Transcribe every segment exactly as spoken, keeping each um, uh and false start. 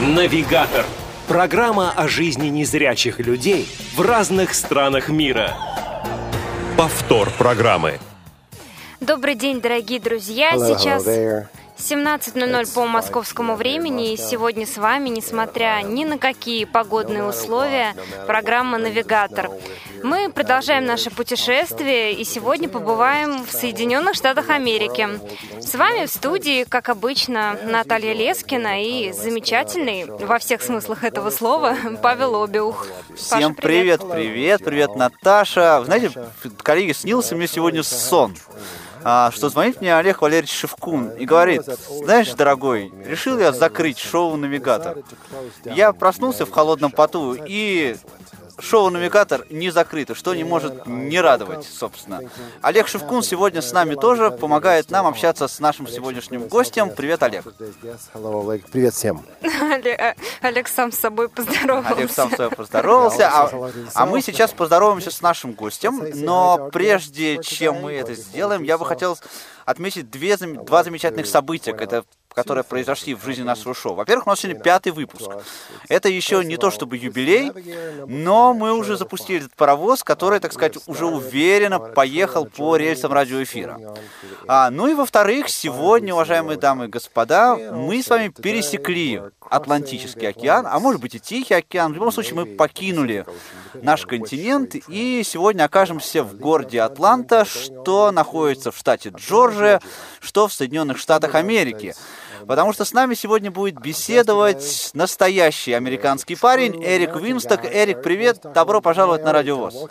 Навигатор. Программа о жизни незрячих людей в разных странах мира. Повтор программы. Добрый день, дорогие друзья. Hello, Сейчас hello there. семнадцать ноль ноль по московскому времени. И сегодня с вами, несмотря ни на какие погодные условия, программа «Навигатор». Мы продолжаем наше путешествие и сегодня побываем в Соединенных Штатах Америки. С вами в студии, как обычно, Наталья Лескина и замечательный, во всех смыслах этого слова, Павел Обиух. Всем Паша, привет. привет, привет, привет, Наташа. Вы знаете, коллеги, снился мне сегодня сон, а, что звонит мне Олег Валерьевич Шевкун и говорит: знаешь, дорогой, решил я закрыть шоу «Навигатор». Я проснулся в холодном поту, и шоу «Навигатор» не закрыто, что не может не радовать, собственно. Олег Шевкун сегодня с нами тоже помогает нам общаться с нашим сегодняшним гостем. Привет, Олег. Привет всем. Олег, Олег сам с собой поздоровался. Олег сам с собой поздоровался, а, а мы сейчас поздороваемся с нашим гостем. Но прежде чем мы это сделаем, я бы хотел отметить две, два замечательных события, это, которые произошли в жизни нашего шоу. Во-первых, у нас сегодня пятый выпуск. Это еще не то чтобы юбилей, но мы уже запустили этот паровоз, который, так сказать, уже уверенно поехал по рельсам радиоэфира. А, ну и во-вторых, сегодня, уважаемые дамы и господа, мы с вами пересекли Атлантический океан, а может быть и Тихий океан. В любом случае, мы покинули наш континент и сегодня окажемся в городе Атланта, что находится в штате Джорджия, что в Соединенных Штатах Америки. Потому что с нами сегодня будет беседовать настоящий американский парень Эрик Винсток. Эрик, привет, добро пожаловать на Радио ВОС.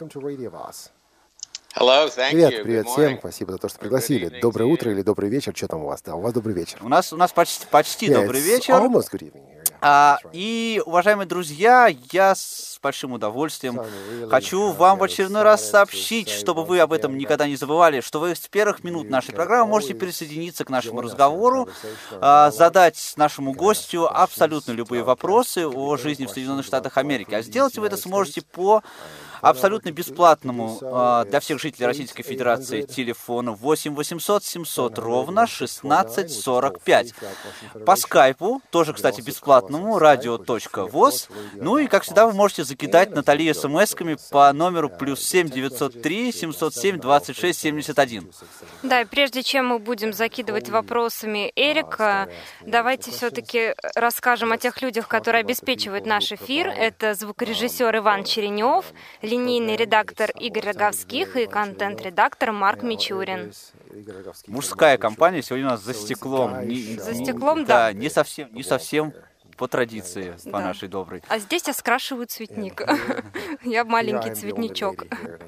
Привет, привет всем, спасибо за то, что пригласили. Доброе утро или добрый вечер, что там у вас? Да, у вас добрый вечер. У нас, у нас почти, почти Yeah, добрый it's вечер. almost good evening here, yeah. А, That's right. и, уважаемые друзья, я с большим удовольствием хочу вам в очередной раз сообщить, чтобы вы об этом никогда не забывали, что вы с первых минут нашей программы можете присоединиться к нашему разговору, а, задать нашему гостю абсолютно любые вопросы о жизни в Соединенных Штатах Америки. А сделать вы это сможете по абсолютно бесплатному а, для всех жителей Российской Федерации телефону восемь восемьсот семьсот ровно шестнадцать сорок пять. По скайпу, тоже, кстати, бесплатному, радио точка воз. Ну и, как всегда, вы можете закидать Натали смс-ками по номеру плюс семь девятьсот три семьсот семь двадцать шесть семьдесят один. Да, и прежде чем мы будем закидывать вопросами Эрика, давайте все-таки расскажем о тех людях, которые обеспечивают наш эфир. Это звукорежиссер Иван Черенев, линейный редактор Игорь Роговских и контент-редактор Марк Мичурин. Мужская компания сегодня у нас за стеклом. Не, За не- стеклом, да. Да, не совсем, не совсем по традиции, по Да. нашей доброй. А здесь я скрашиваю цветник. Я маленький цветничок.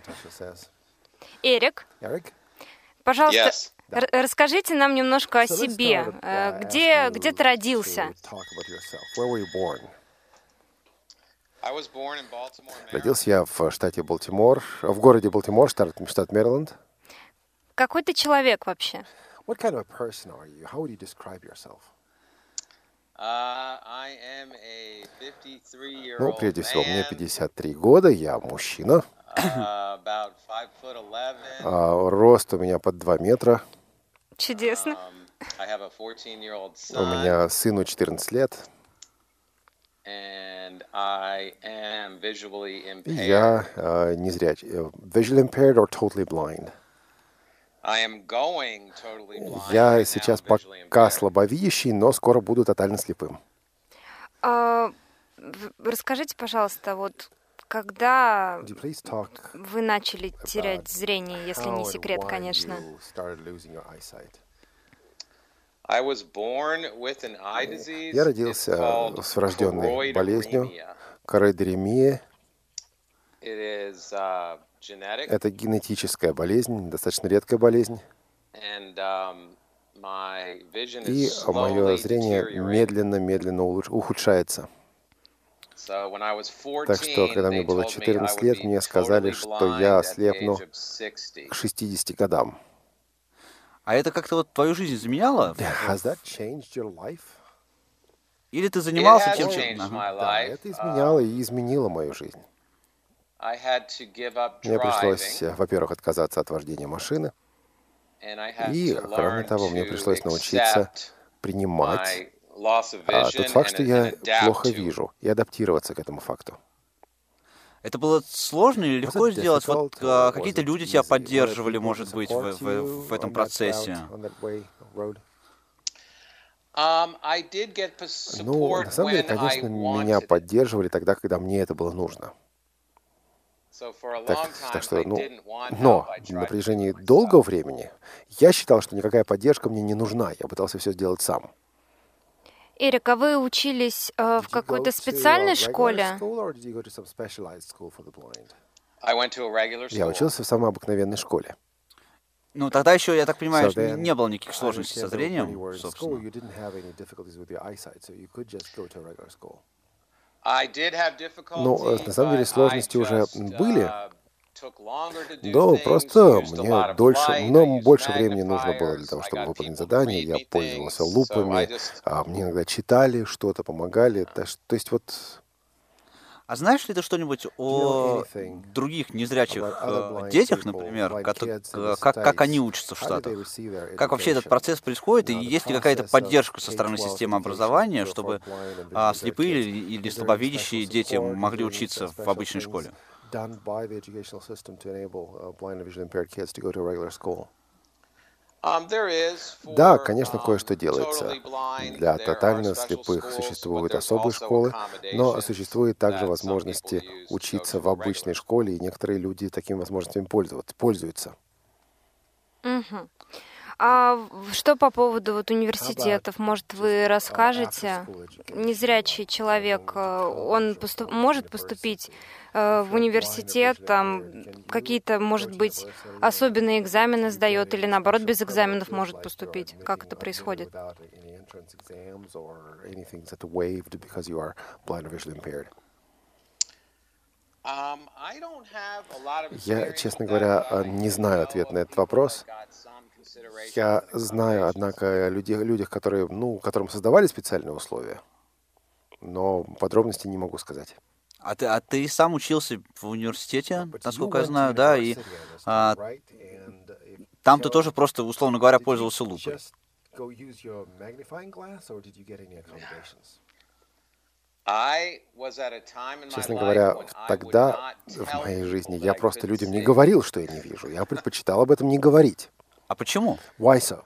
Эрик, пожалуйста, Yes. р- расскажите нам немножко о себе. Э, Где, где ты родился? I was born in Baltimore, Maryland. Родился я в штате Балтимор, в городе Балтимор, штат, штат Мэриленд. Какой ты человек вообще? What kind of a person are you? How would you describe yourself? Uh, I am a fifty-three-year-old Ну, прежде всего, мне man, пятьдесят три года, я мужчина. uh, about five foot eleven. А, рост у меня под два метра. Чудесно. Um, I have a fourteen-year-old У son, меня сыну четырнадцать лет. and I am visually И impaired. я а, незрячий. э, Visually impaired or totally blind. I am going totally blind Я right now, сейчас visually пока impaired. слабовидящий, но скоро буду тотально слепым. А, в- расскажите, пожалуйста, вот когда Could you please talk вы начали терять зрение, если не how and секрет, why конечно? you started losing your eyesight? I was born with an eye disease. Я It's родился called с врожденной болезнью короидеремия. It is uh, genetic, Это генетическая болезнь, достаточно редкая болезнь. and um, my vision И is мое slowly зрение deteriorating. медленно-медленно улуч- ухудшается. So when I was Так что, fourteen, когда мне they было told me I четырнадцать would лет, be мне сказали, totally что blind я at the ослепну age of sixty. к шестидесяти годам. А это как-то вот твою жизнь изменяло? Has that changed your life? Или ты занимался It has чем-то? changed Ага. my Да, life. это изменяло и изменило мою жизнь. I had to give up Мне пришлось, driving, э, во-первых, отказаться от вождения машины, and I had и, to кроме learn того, мне to пришлось научиться accept принимать my А тот факт, что я плохо вижу, и адаптироваться к этому факту. Это было сложно или легко сделать? Вот а, какие-то люди тебя поддерживали, может быть, в, в, в этом процессе? Ну, на самом деле, конечно, меня поддерживали тогда, когда мне это было нужно. Так, так что, ну, но на протяжении долгого времени я считал, что никакая поддержка мне не нужна. Я пытался все сделать сам. Эрик, а вы учились э, в какой-то специальной школе? Я учился в самой обыкновенной школе. Ну, тогда еще, я так понимаю, so не было никаких сложностей со зрением, собственно. Ну, на самом деле сложности уже были, но просто мне дольше, но больше времени нужно было для того, чтобы выполнить задание. Я пользовался лупами, а мне иногда читали что-то, помогали. То есть вот... А знаешь ли ты что-нибудь о других незрячих э, детях, например, как, как, как они учатся в Штатах? Как вообще этот процесс происходит, и есть ли какая-то поддержка со стороны системы образования, чтобы а, слепые или слабовидящие дети могли учиться в обычной школе? Да, конечно, кое-что делается. Для тотально слепых существуют особые школы, но существуют также возможности учиться в обычной школе, и некоторые люди такими возможностями пользуются. Угу. А что по поводу вот университетов? Может, вы расскажете? Незрячий человек, он поступ... может поступить в университет, там какие-то, может быть, особенные экзамены сдает, или наоборот, без экзаменов может поступить? Как это происходит? Я, честно говоря, не знаю ответ на этот вопрос. Я знаю, однако, о людях, людях, которые, ну, которым создавали специальные условия, но подробностей не могу сказать. А ты, а ты сам учился в университете, насколько я знаю, да, и а, там ты тоже просто, условно говоря, пользовался лупой. Честно говоря, тогда в моей жизни я просто людям не говорил, что я не вижу. Я предпочитал об этом не говорить. А почему? Why so?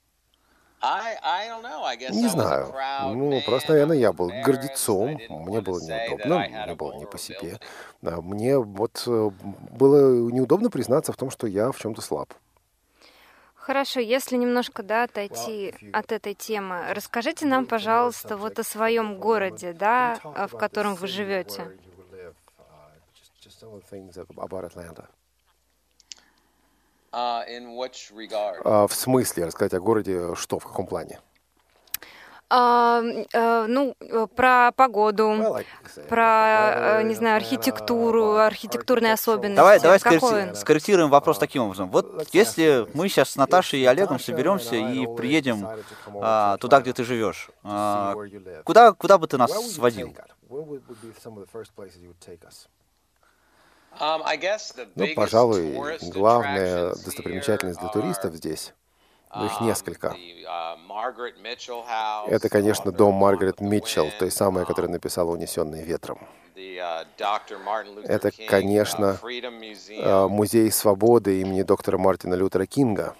Не знаю. Ну, просто, наверное, я был гордецом. Мне было неудобно, мне было не по себе. Мне вот было неудобно признаться в том, что я в чем-то слаб. Хорошо, если немножко, да, отойти от этой темы, расскажите нам, пожалуйста, вот о своем городе, да, в котором вы живете. Uh, в смысле рассказать о городе, что, в каком плане? Uh, uh, ну, про погоду, про, uh, не знаю, архитектуру, архитектурные особенности. Давай, давай скорректируем, скорректируем вопрос таким образом. Вот если мы сейчас с Наташей и Олегом соберемся и приедем uh, туда, где ты живешь, uh, куда, куда бы ты нас сводил? Ну, пожалуй, главная достопримечательность для туристов здесь, ну, их несколько. Это, конечно, дом Маргарет Митчелл, той самой, которая написала «Унесенные ветром». Это, конечно, музей свободы имени доктора Мартина Лютера Кинга.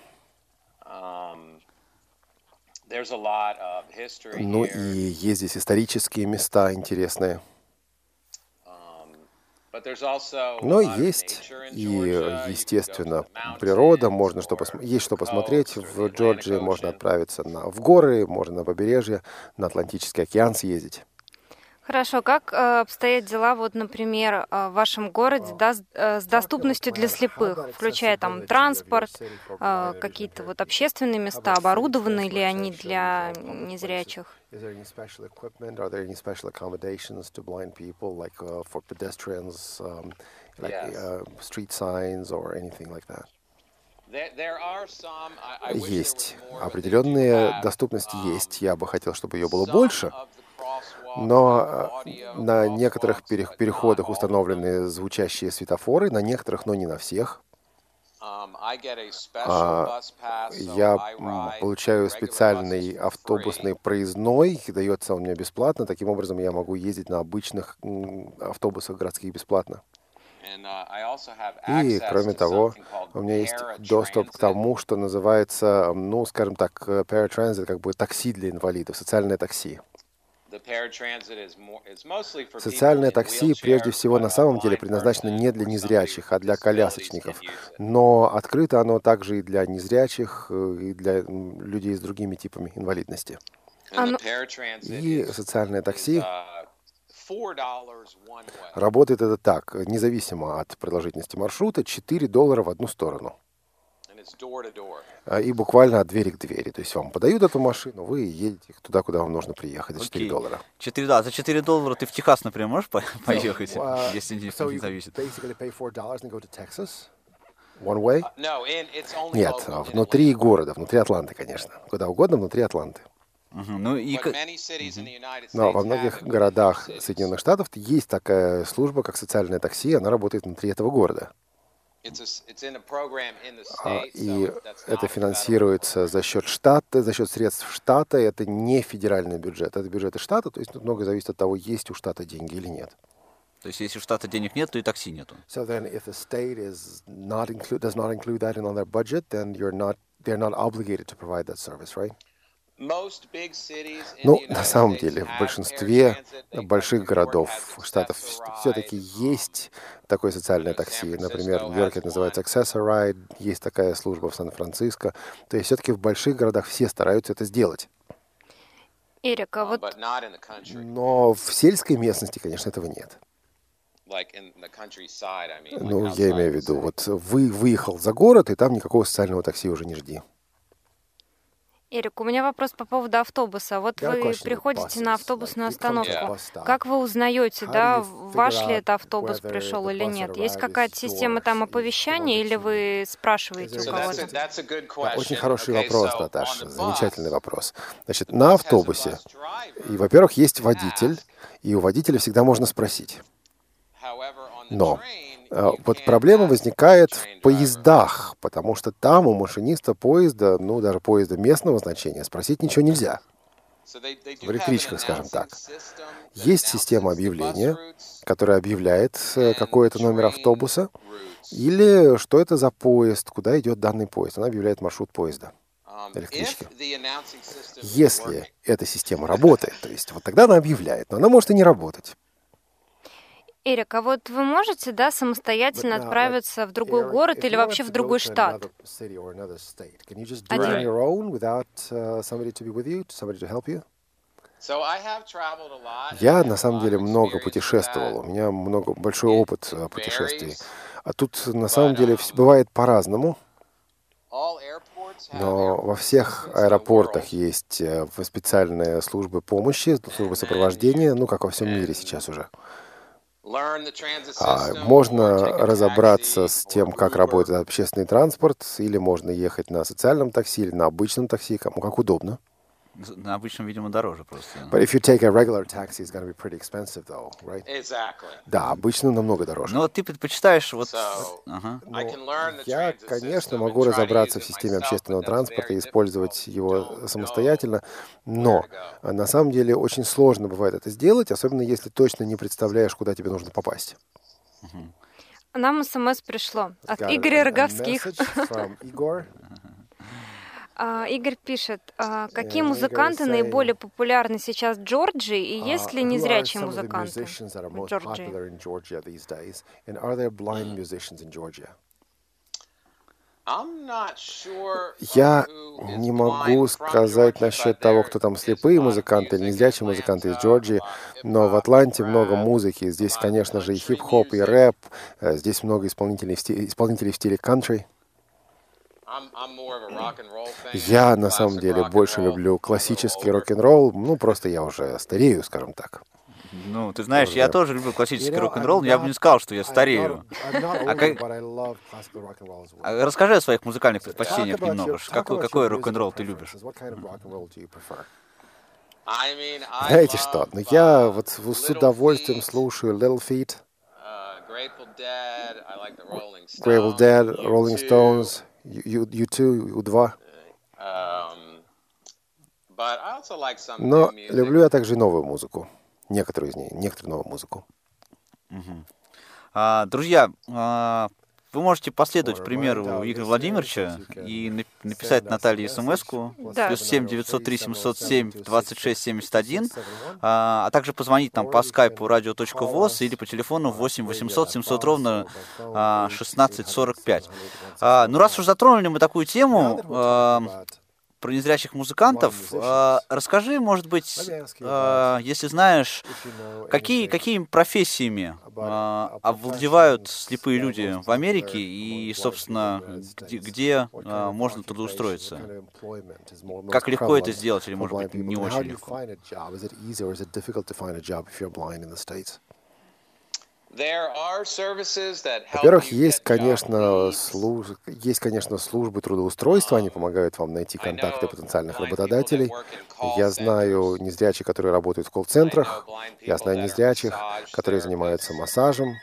Ну и есть здесь исторические места интересные. Но есть и, естественно, природа, можно что пос... есть что посмотреть. В Джорджии можно отправиться на... в горы, можно на побережье, на Атлантический океан съездить. Хорошо, как э, обстоят дела, вот, например, э, в вашем городе, да, с, э, с доступностью для слепых, включая там транспорт, э, какие-то вот общественные места, оборудованы ли они для незрячих? Есть. Определенная доступность есть. Я бы хотел, чтобы ее было больше. Но на некоторых переходах установлены звучащие светофоры, на некоторых, но не на всех. А, я получаю специальный автобусный проездной, дается он мне бесплатно. Таким образом, я могу ездить на обычных автобусах городских бесплатно. И, кроме того, у меня есть доступ к тому, что называется, ну, скажем так, paratransit, как бы такси для инвалидов, социальное такси. Социальное такси прежде всего на самом деле предназначено не для незрячих, а для колясочников. Но открыто оно также и для незрячих, и для людей с другими типами инвалидности. И социальное такси работает это так, независимо от продолжительности маршрута, четыре доллара в одну сторону. И буквально от двери к двери. То есть вам подают эту машину, вы едете туда, куда вам нужно приехать за четыре доллара. четыре, да, за четыре доллара ты в Техас, например, можешь по- поехать, so, uh, если не, so не зависит? Нет, внутри города, внутри Атланты, конечно. Куда угодно, внутри Атланты. Uh-huh. Ну, и... uh-huh. Но во многих городах Соединенных Штатов есть такая служба, как социальное такси, она работает внутри этого города. И это финансируется за счет штата, за счет средств штата. Это не федеральный бюджет, это бюджеты штата. То есть тут многое зависит от того, есть у штата деньги или нет. То есть если у штата денег нет, то и такси нету. So then, if the state is not include does not include that in on their budget, then you're not they're not obligated to provide that service, right? Ну, на самом деле, в большинстве больших городов, штатов все-таки есть такое социальное такси. Например, в Нью-Йорке это называется Access-a-Ride, есть такая служба в Сан-Франциско. То есть все-таки в больших городах все стараются это сделать. Эрик, а вот... Но в сельской местности, конечно, этого нет. Ну, я имею в виду, вот вы выехал за город, и там никакого социального такси уже не жди. Эрик, у меня вопрос по поводу автобуса. Вот вы приходите на автобусную остановку. Как вы узнаете, да, ваш ли это автобус пришел или нет? Есть какая-то система там оповещания, или вы спрашиваете у кого-то? Очень хороший вопрос, Наташа, замечательный вопрос. Значит, на автобусе, и, во-первых, есть водитель, и у водителя всегда можно спросить. Но вот проблема возникает в поездах, потому что там у машиниста поезда, ну, даже поезда местного значения, спросить ничего нельзя. В электричках, скажем так. Есть система объявления, которая объявляет какой-то номер автобуса, или что это за поезд, куда идет данный поезд. Она объявляет маршрут поезда, электрички. Если эта система работает, то есть вот тогда она объявляет, но она может и не работать. Эрик, а вот вы можете, да, самостоятельно отправиться в другой город или вообще в другой штат? Один. Я, на самом деле, много путешествовал. У меня много, большой опыт путешествий. А тут, на самом деле, бывает по-разному. Но во всех аэропортах есть специальные службы помощи, службы сопровождения, ну, как во всем мире сейчас уже. А можно разобраться с тем, как работает общественный транспорт, или можно ехать на социальном такси, или на обычном такси, кому как удобно. На обычном, видимо, дороже просто. But if you take a regular taxi, it's going to be pretty expensive, though, right? Exactly. Да, обычно намного дороже. Но ты предпочитаешь вот... So, ага. Я, конечно, могу разобраться в системе общественного транспорта и использовать его самостоятельно, но на самом деле очень сложно бывает это сделать, особенно если точно не представляешь, куда тебе нужно попасть. Нам смс пришло от Игоря Роговских. Uh, Игорь пишет, uh, какие музыканты наиболее популярны сейчас в Джорджии, и есть ли незрячие музыканты в Джорджии? Я не могу сказать насчет того, кто там слепые музыканты или незрячие музыканты из Джорджии, но в Атланте много музыки. Здесь, конечно же, и хип-хоп, и рэп. Здесь много исполнителей в стиле, исполнителей в стиле кантри. Я, на самом деле, больше люблю классический рок-н-ролл. Ну, просто я уже старею, скажем так. Ну, ты знаешь, я тоже люблю классический рок-н-ролл, но я бы не сказал, что я старею. А как... а расскажи о своих музыкальных предпочтениях немного. Какой, какой рок-н-ролл ты любишь? Знаете что? Ну, я вот с удовольствием слушаю Little Feat. Grateful Dead, Rolling Stones, ю два, ю два. Но люблю я также и новую музыку. Некоторую из ней, некоторую новую музыку. Uh-huh. А, друзья, а, вы можете последовать примеру Игоря Владимировича и написать Наталье смс-ку Да. плюс семь девятьсот три семьсот семь двадцать шесть семьдесят один, а, а также позвонить нам по скайпу radio.voz или по телефону восемь восемьсот семьсот ровно а, шестнадцать сорок пять. А, ну, раз уж затронули мы такую тему а, про незрячих музыкантов, а, расскажи, может быть, а, если знаешь, какие, какими профессиями а, овладевают слепые люди в Америке и, собственно, где, где а, можно трудоустроиться? Как легко это сделать или, может быть, не очень легко? Во-первых, есть, конечно, служ... есть, конечно, службы трудоустройства, они помогают вам найти контакты потенциальных работодателей. Я знаю незрячих, которые работают в колл-центрах, я знаю незрячих, которые занимаются массажем.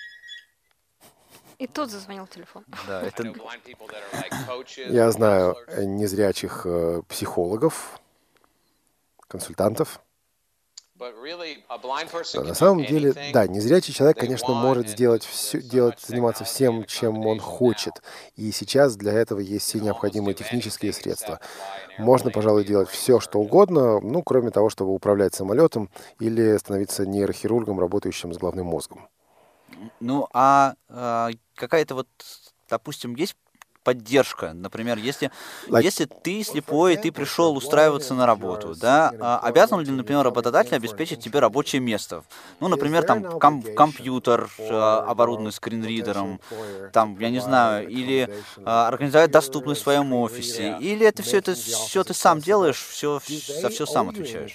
И тут зазвонил телефон. Да, это... Я знаю незрячих э, психологов, консультантов. Но на самом деле, да, незрячий человек, конечно, может сделать все, делать, заниматься всем, чем он хочет. И сейчас для этого есть все необходимые технические средства. Можно, пожалуй, делать все, что угодно, ну, кроме того, чтобы управлять самолетом или становиться нейрохирургом, работающим с головным мозгом. Ну, а, а какая-то вот, допустим, есть поддержка, например, если, like, если ты слепой, ты пришел устраиваться на работу, да, а обязан ли, например, работодатель обеспечить тебе рабочее место? Ну, например, там ком- компьютер, оборудованный скринридером, там, я не знаю, или а, организовать доступность в своем офисе, или это все, это все ты сам делаешь, все, за все сам отвечаешь?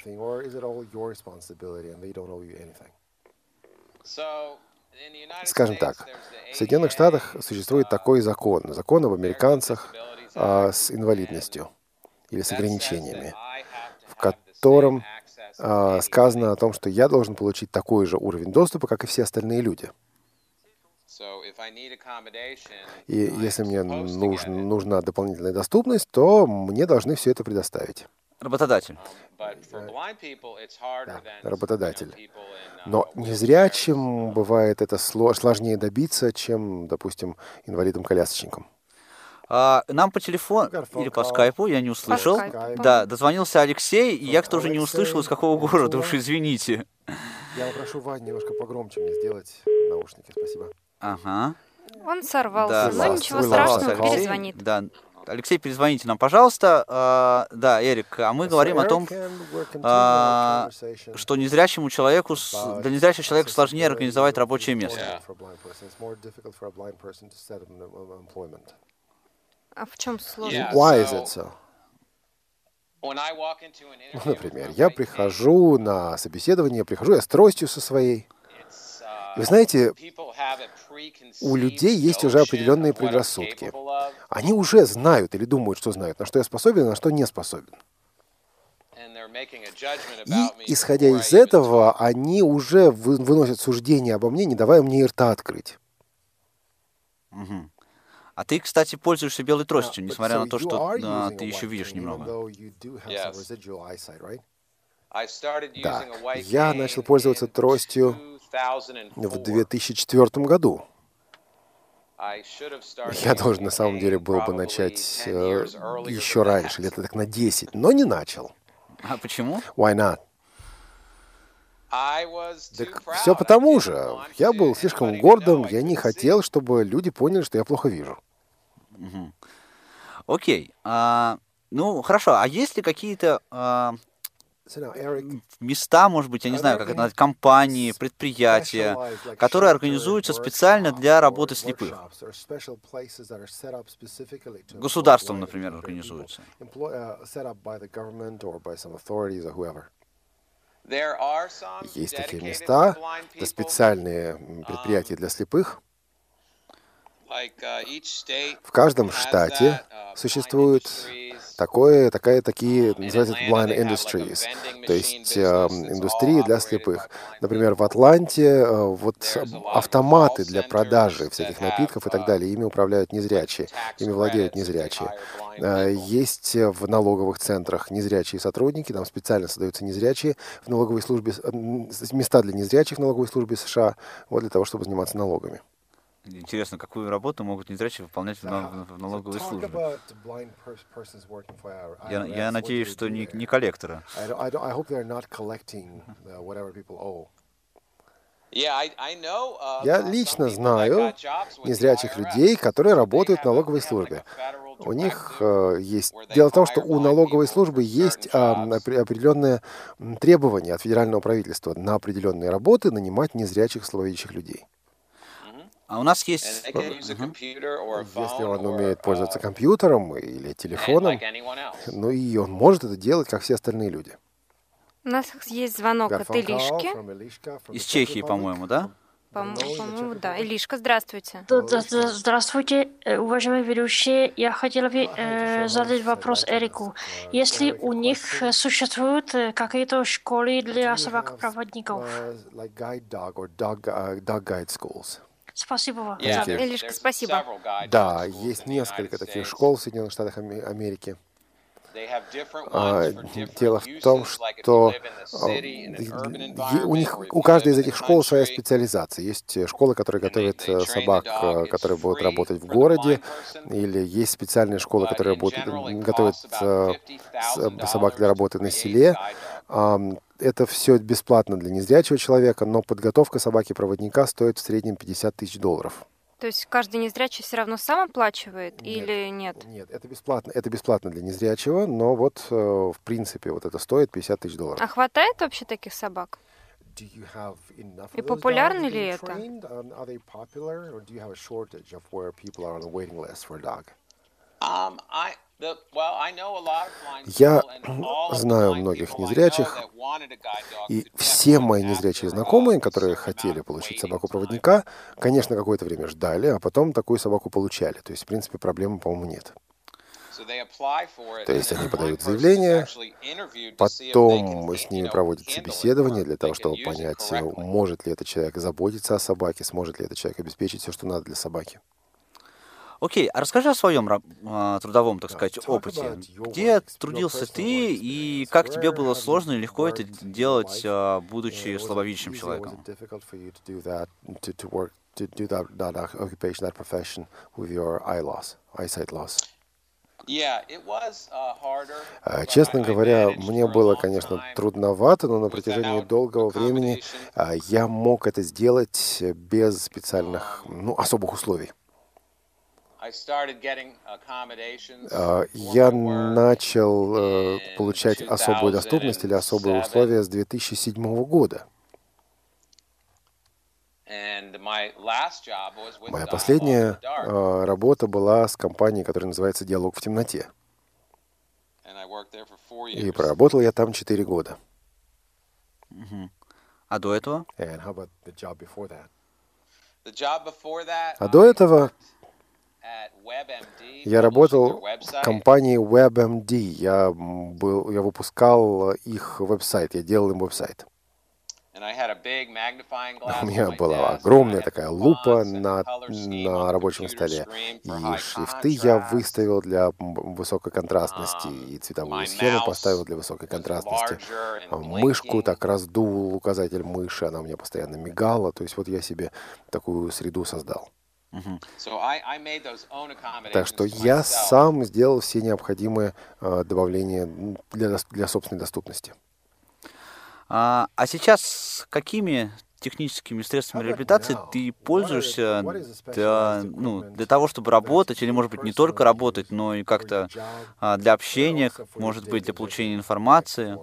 Скажем так, в Соединенных Штатах существует такой закон, закон об американцах а, с инвалидностью или с ограничениями, в котором а, сказано о том, что я должен получить такой же уровень доступа, как и все остальные люди. И если мне нужен, нужна дополнительная доступность, то мне должны все это предоставить. Работодатель. Да, работодатель. Но незрячим бывает это сложнее добиться, чем, допустим, инвалидам-колясочникам. А, нам по телефону или по скайпу, я не услышал. Да, дозвонился Алексей, и я тоже не услышал, из какого города, уж извините. Я попрошу Вань немножко погромче мне сделать наушники, спасибо. Ага. Он сорвался, Да, но ничего страшного, Алексей. перезвонит. Да. Алексей, перезвоните нам, пожалуйста. А, да, Эрик, а мы говорим о том, а, что незрячему человеку, для незрячего человека сложнее организовать рабочее место. А в чем сложность? Why is it so? Например, я прихожу на собеседование, прихожу я с тростью со своей. Вы знаете, у людей есть уже определенные предрассудки. Они уже знают или думают, что знают, на что я способен, а на что не способен. И, исходя из этого, они уже вы, выносят суждение обо мне, не давая мне и рта открыть. Угу. А ты, кстати, пользуешься белой тростью, несмотря на то, что а, ты еще видишь немного. Да, я начал пользоваться тростью в две тысячи четвёртом году. Я должен, на самом деле, был бы начать э, еще раньше, лет так на десять, но не начал. А почему? Why not? Так все потому же. Я был слишком гордым, я не хотел, чтобы люди поняли, что я плохо вижу. Угу. Окей. А, ну, хорошо. А есть ли какие-то... А... места, может быть, я не знаю, как это назвать, компании, предприятия, которые организуются специально для работы слепых. Государством, например, организуются. Есть такие места, это специальные предприятия для слепых. В каждом штате существует Такое, такая, такие, называются blind industries, то есть э, индустрии для слепых. Например, в Атланте э, вот автоматы для продажи всяких напитков и так далее, ими управляют незрячие, ими владеют незрячие. Э, есть в налоговых центрах незрячие сотрудники, там специально создаются незрячие в налоговой службе, места для незрячих в налоговой службе США, вот для того, чтобы заниматься налогами. Интересно, какую работу могут незрячие выполнять в, в налоговой службе? Я, я надеюсь, что не, не коллекторы. Я лично знаю незрячих людей, которые работают в налоговой службе. У них э, есть... Дело в том, что у налоговой службы есть э, определенные требования от федерального правительства на определенные работы нанимать незрячих слабовидящих людей. А у нас есть... Uh-huh. Если он умеет пользоваться компьютером или телефоном, ну и он может это делать, как все остальные люди. У нас есть звонок от Илишки. Из Чехии, по-моему, да? По-моему, да. Илишка, здравствуйте. Здравствуйте, уважаемые ведущие. Я хотела бы э, задать вопрос Эрику. Если у них существуют какие-то школы для собак-проводников? Спасибо вам. Илишка, спасибо. Да, есть несколько таких школ в Соединенных Штатах Америки. А, дело в том, что у них, у каждой из этих школ своя специализация. Есть школы, которые готовят собак, которые будут работать в городе, или есть специальные школы, которые будут, готовят собак для работы на селе. Это все бесплатно для незрячего человека, но подготовка собаки-проводника стоит в среднем пятьдесят тысяч долларов. То есть каждый незрячий все равно сам оплачивает нет, или нет? Нет, это бесплатно. Это бесплатно для незрячего, но вот в принципе вот это стоит пятьдесят тысяч долларов. А хватает вообще таких собак? И популярны ли это? Я знаю многих незрячих, и все мои незрячие знакомые, которые хотели получить собаку-проводника, конечно, какое-то время ждали, а потом такую собаку получали. То есть, в принципе, проблемы, по-моему, нет. То есть они подают заявление, потом с ними проводят собеседование для того, чтобы понять, может ли этот человек заботиться о собаке, сможет ли этот человек обеспечить все, что надо для собаки. Окей, а расскажи о своем э, трудовом, так сказать, опыте. Где трудился ты и как тебе было сложно и легко это делать, э, будучи слабовидящим человеком? Честно говоря, мне было, конечно, трудновато, но на протяжении долгого времени я мог это сделать без специальных, ну, особых условий. Я начал получать особую доступность или особые условия с две тысячи седьмого года. Моя последняя работа была с компанией, которая называется «Диалог в темноте». И проработал я там четыре года. А до этого? А до этого я работал в компании WebMD. Я, был, я выпускал их веб-сайт, я делал им веб-сайт. У меня была огромная такая лупа на, на рабочем столе, и шрифты я выставил для высокой контрастности, и цветовую схему поставил для высокой контрастности. Мышку так раздул, указатель мыши, она у меня постоянно мигала, то есть вот я себе такую среду создал. Uh-huh. Так что я сам сделал все необходимые э, добавления для, для собственной доступности. А, а сейчас какими техническими средствами реабилитации ты пользуешься для, ну, для того, чтобы работать, или, может быть, не только работать, но и как-то а, для общения, может быть, для получения информации?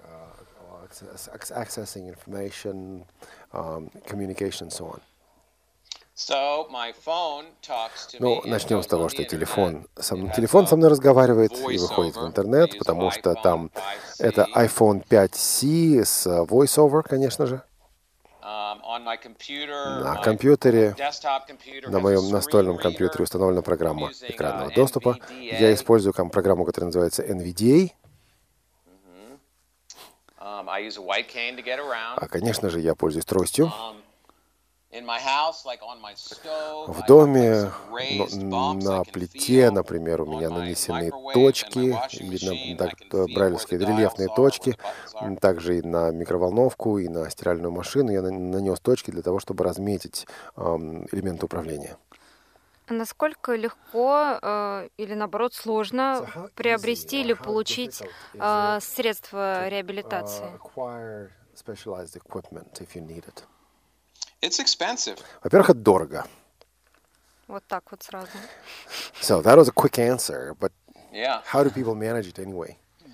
Ну, начнем с того, что телефон со, телефон со мной разговаривает и выходит в интернет, потому что там это айфон пять си с VoiceOver, конечно же. На компьютере, на моем настольном компьютере установлена программа экранного доступа. Я использую программу, которая называется эн ви ди эй. А, конечно же, я пользуюсь тростью. В доме, ну, на плите, например, у меня нанесены точки, или на, так, брайлевские рельефные точки, также и на микроволновку, и на стиральную машину я нанес точки для того, чтобы разметить эм, элементы управления. Насколько легко э, или, наоборот, сложно приобрести или получить э, средства реабилитации? Во-первых, это дорого. Вот так вот сразу. So that was a quick answer, but how do people manage it anyway?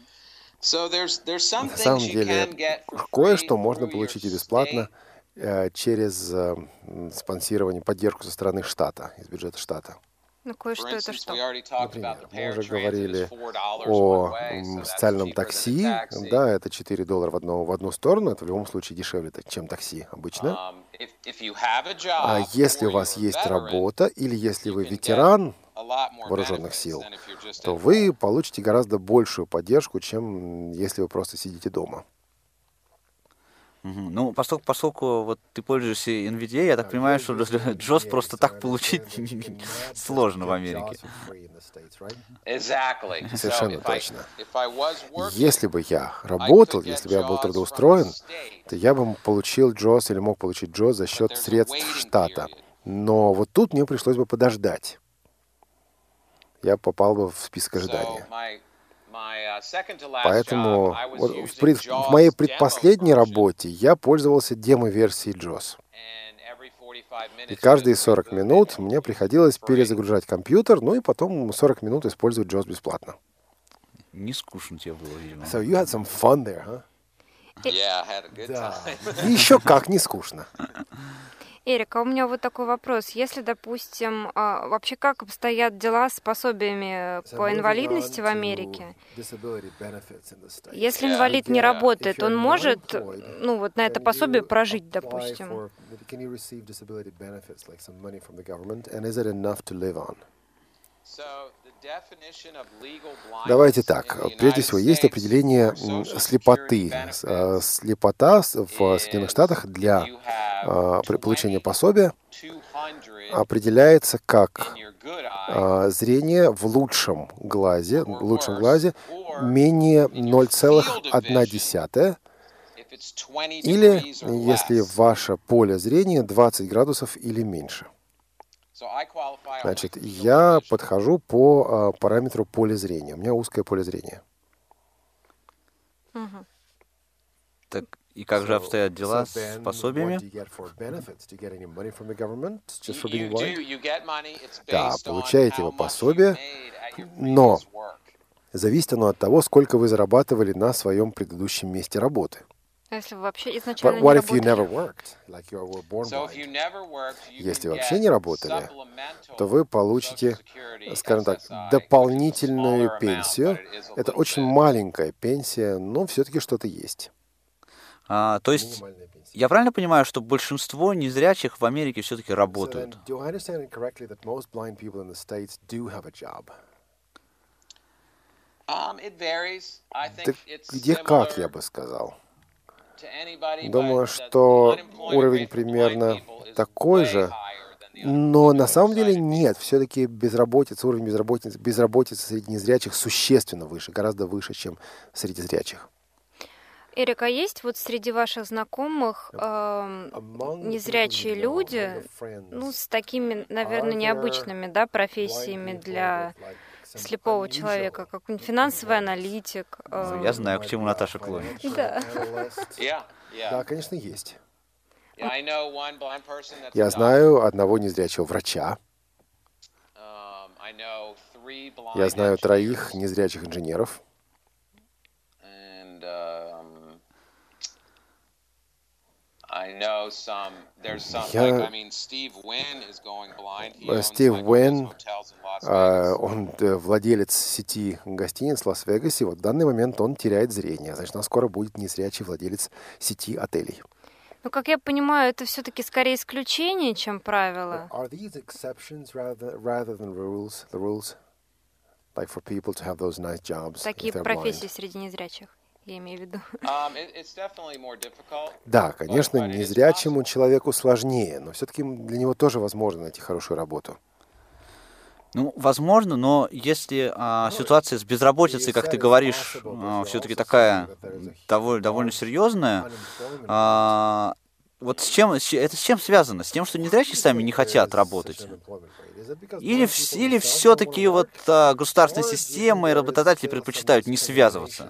На самом деле, кое-что можно получить и бесплатно э, через э, спонсирование, поддержку со стороны штата, из бюджета штата. Ну, кое-что это что? Например, мы уже говорили о м, социальном такси. Да, это четыре доллара в одну, в одну сторону. Это в любом случае дешевле, чем такси обычно. А если у вас есть работа, или если вы ветеран вооруженных сил, то вы получите гораздо большую поддержку, чем если вы просто сидите дома. Ну, поскольку, поскольку вот ты пользуешься эн ви ди эй, я так понимаю, что джоз просто так получить сложно в Америке. Совершенно точно. Если бы я работал, если бы я был трудоустроен, то я бы получил джоз или мог получить джоз за счет средств штата. Но вот тут мне пришлось бы подождать. Я попал бы в список ожидания. Поэтому вот в, пред, в моей предпоследней работе я пользовался демо-версией джоз. И каждые сорок минут мне приходилось перезагружать компьютер, ну и потом сорок минут использовать джоз бесплатно. Не скучно тебе было, видимо. So you had some fun there, huh? Yeah, I had a good Да. time. И еще как не скучно. Эрик, а у меня вот такой вопрос. Если, допустим, а, вообще как обстоят дела с пособиями по инвалидности в Америке? Если инвалид не работает, он может, ну, вот на это пособие прожить, допустим? Давайте так. Прежде всего, есть определение слепоты. Слепота в Соединенных Штатах для получения пособия определяется как зрение в лучшем глазе, в лучшем глазе менее ноль целых одна десятая, или если ваше поле зрения двадцать градусов или меньше. Значит, я подхожу по а, параметру поля зрения. У меня узкое поле зрения. Мгм. Так, и как же обстоят дела с пособиями? Да, получаете вы пособие, но зависит оно от того, сколько вы зарабатывали на своем предыдущем месте работы. А если вы вообще изначально But не what if you работали? never worked, like you were born blind? Если вообще не работали, то вы получите, скажем так, дополнительную пенсию. Это очень маленькая пенсия, но все-таки что-то есть. А, то есть, я правильно понимаю, что большинство незрячих в Америке все-таки работают? Do I understand it correctly that most blind people in the States do have a job? Так где как, я бы сказал. Думаю, что уровень примерно такой же, но на самом деле нет. Все-таки безработица, уровень безработицы, безработицы среди незрячих существенно выше, гораздо выше, чем среди зрячих. Эрик, а есть вот среди ваших знакомых э, незрячие люди, ну, с такими, наверное, необычными, да, профессиями для слепого человека, как финансовый аналитик? Э, Я знаю, к чему Наташа клонит. Да. Да, конечно, есть. Я знаю одного незрячего врача. Я знаю троих незрячих инженеров. Я... Стив Уэн, он владелец сети гостиниц в Лас-Вегасе. Вот в данный момент он теряет зрение. Значит, у нас скоро будет незрячий владелец сети отелей. Но, как я понимаю, это все-таки скорее исключение, чем правило. Такие профессии среди незрячих, я имею в виду. Да, конечно, незрячему человеку сложнее, но все-таки для него тоже возможно найти хорошую работу. Ну, возможно, но если а, ситуация с безработицей, как ты говоришь, а, все-таки такая довольно, довольно серьезная, а, вот с чем, это с чем связано? С тем, что незрячие сами не хотят работать? Или, или все-таки вот а, государственная система и работодатели предпочитают не связываться?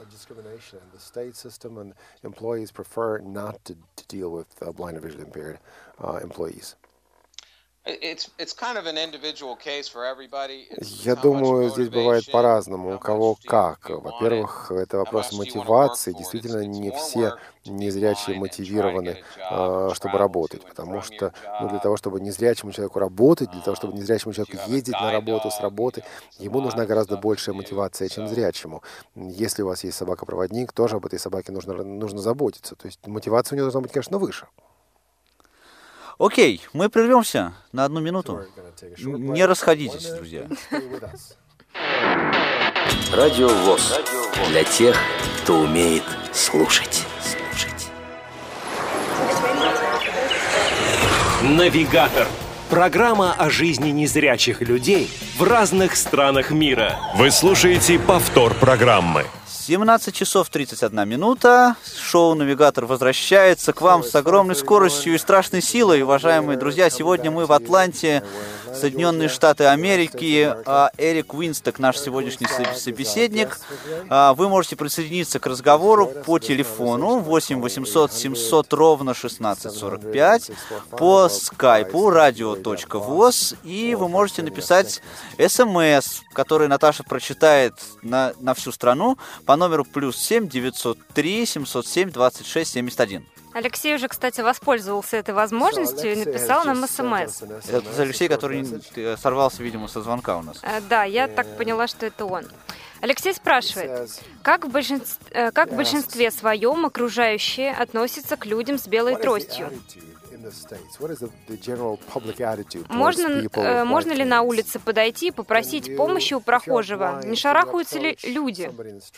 Я думаю, здесь бывает по-разному, у кого как. Во-первых, это вопрос мотивации. Действительно, не все незрячие мотивированы, чтобы работать, потому что ну, для того, чтобы незрячему человеку работать, для того, чтобы незрячему человеку ездить на работу с работы, ему нужна гораздо большая мотивация, чем зрячему. Если у вас есть собака-проводник, тоже об этой собаке нужно, нужно заботиться. То есть мотивация у него должна быть, конечно, выше. Окей, мы прервемся на одну минуту. Не расходитесь, друзья. Радио ВОС. Для тех, кто умеет слушать. Навигатор. Программа о жизни незрячих людей в разных странах мира. Вы слушаете повтор программы. семнадцать часов тридцать одна минута. Шоу «Навигатор» возвращается к вам с огромной скоростью и страшной силой. Уважаемые друзья, сегодня мы в Атланте, Соединенные Штаты Америки. Эрик Уинсток, наш сегодняшний собеседник. Вы можете присоединиться к разговору по телефону восемь восемьсот семьсот ровно шестнадцать сорок пять, по скайпу радио точка вос, и вы можете написать смс, который Наташа прочитает на, на всю страну, по номеру плюс семь девятьсот три семьсот семь двадцать шесть семьдесят один. Алексей уже, кстати, воспользовался этой возможностью и написал нам смс. Это Алексей, который сорвался, видимо, со звонка у нас. Да, я так поняла, что это он. Алексей спрашивает, как в, большинстве, как в большинстве своем окружающие относятся к людям с белой тростью? Можно, можно ли на улице подойти и попросить помощи у прохожего? Не шарахаются ли люди?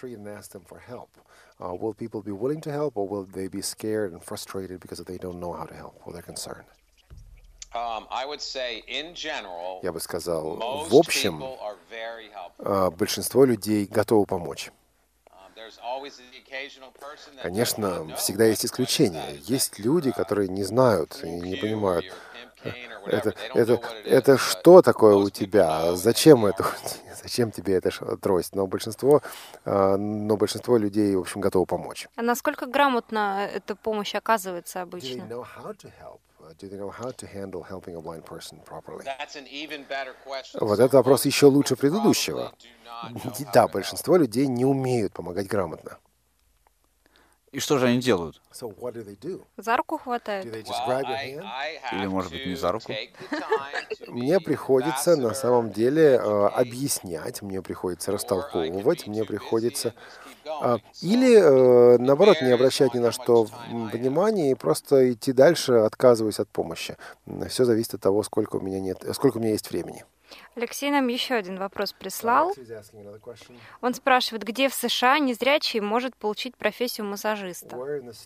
Uh, will people be willing to help, or will they be scared and frustrated because they don't know how to help, or they're concerned? Um, I would say, in general, Я бы сказал, в общем, uh, большинство людей готовы помочь. Конечно, всегда есть исключения. Есть люди, которые не знают и не понимают, это, это, это что такое у тебя, зачем это, зачем тебе эта трость. Но большинство, но большинство людей, в общем, готовы помочь. А насколько грамотно эта помощь оказывается обычно? Вот этот вопрос еще лучше предыдущего. Да, большинство людей не умеют помогать грамотно. И что же они делают? За руку хватают. Или, может быть, не за руку? Мне приходится, на самом деле, объяснять, мне приходится растолковывать, мне приходится... Или, наоборот, не обращать ни на что внимания и просто идти дальше, отказываясь от помощи. Все зависит от того, сколько у меня нет, сколько у меня есть времени. Алексей нам еще один вопрос прислал. Он спрашивает, где в США незрячий может получить профессию массажиста?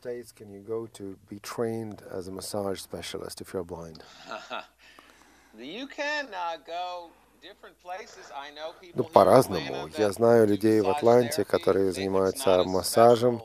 Ну, по-разному. Я знаю людей в Атланте, которые занимаются массажем.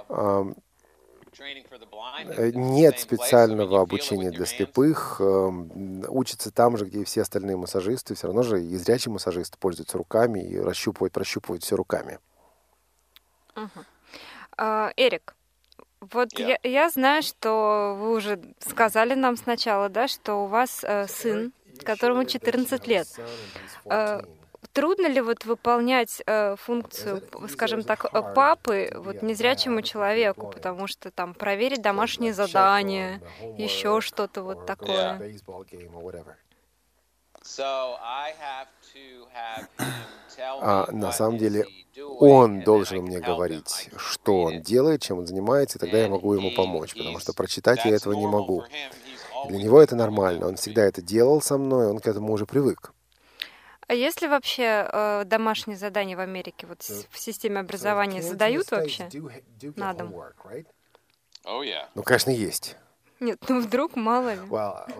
Нет специального обучения для слепых. Учатся там же, где и все остальные массажисты. Все равно же и зрячий массажист пользуется руками и расщупывает, прощупывает все руками. Uh-huh. Uh, Эрик, вот yeah. я, я знаю, что вы уже сказали нам сначала, да, что у вас uh, сын, которому четырнадцать лет. Uh, Трудно ли вот выполнять э, функцию, скажем так, папы вот незрячему человеку, потому что там проверить домашние задания, еще что-то вот такое? А на самом деле он должен мне говорить, что он делает, чем он занимается, и тогда я могу ему помочь, потому что прочитать я этого не могу. Для него это нормально, он всегда это делал со мной, он к этому уже привык. А есть ли вообще э, домашние задания в Америке, вот в системе образования задают вообще на дом? Ну, конечно, есть. Нет, ну вдруг, мало ли.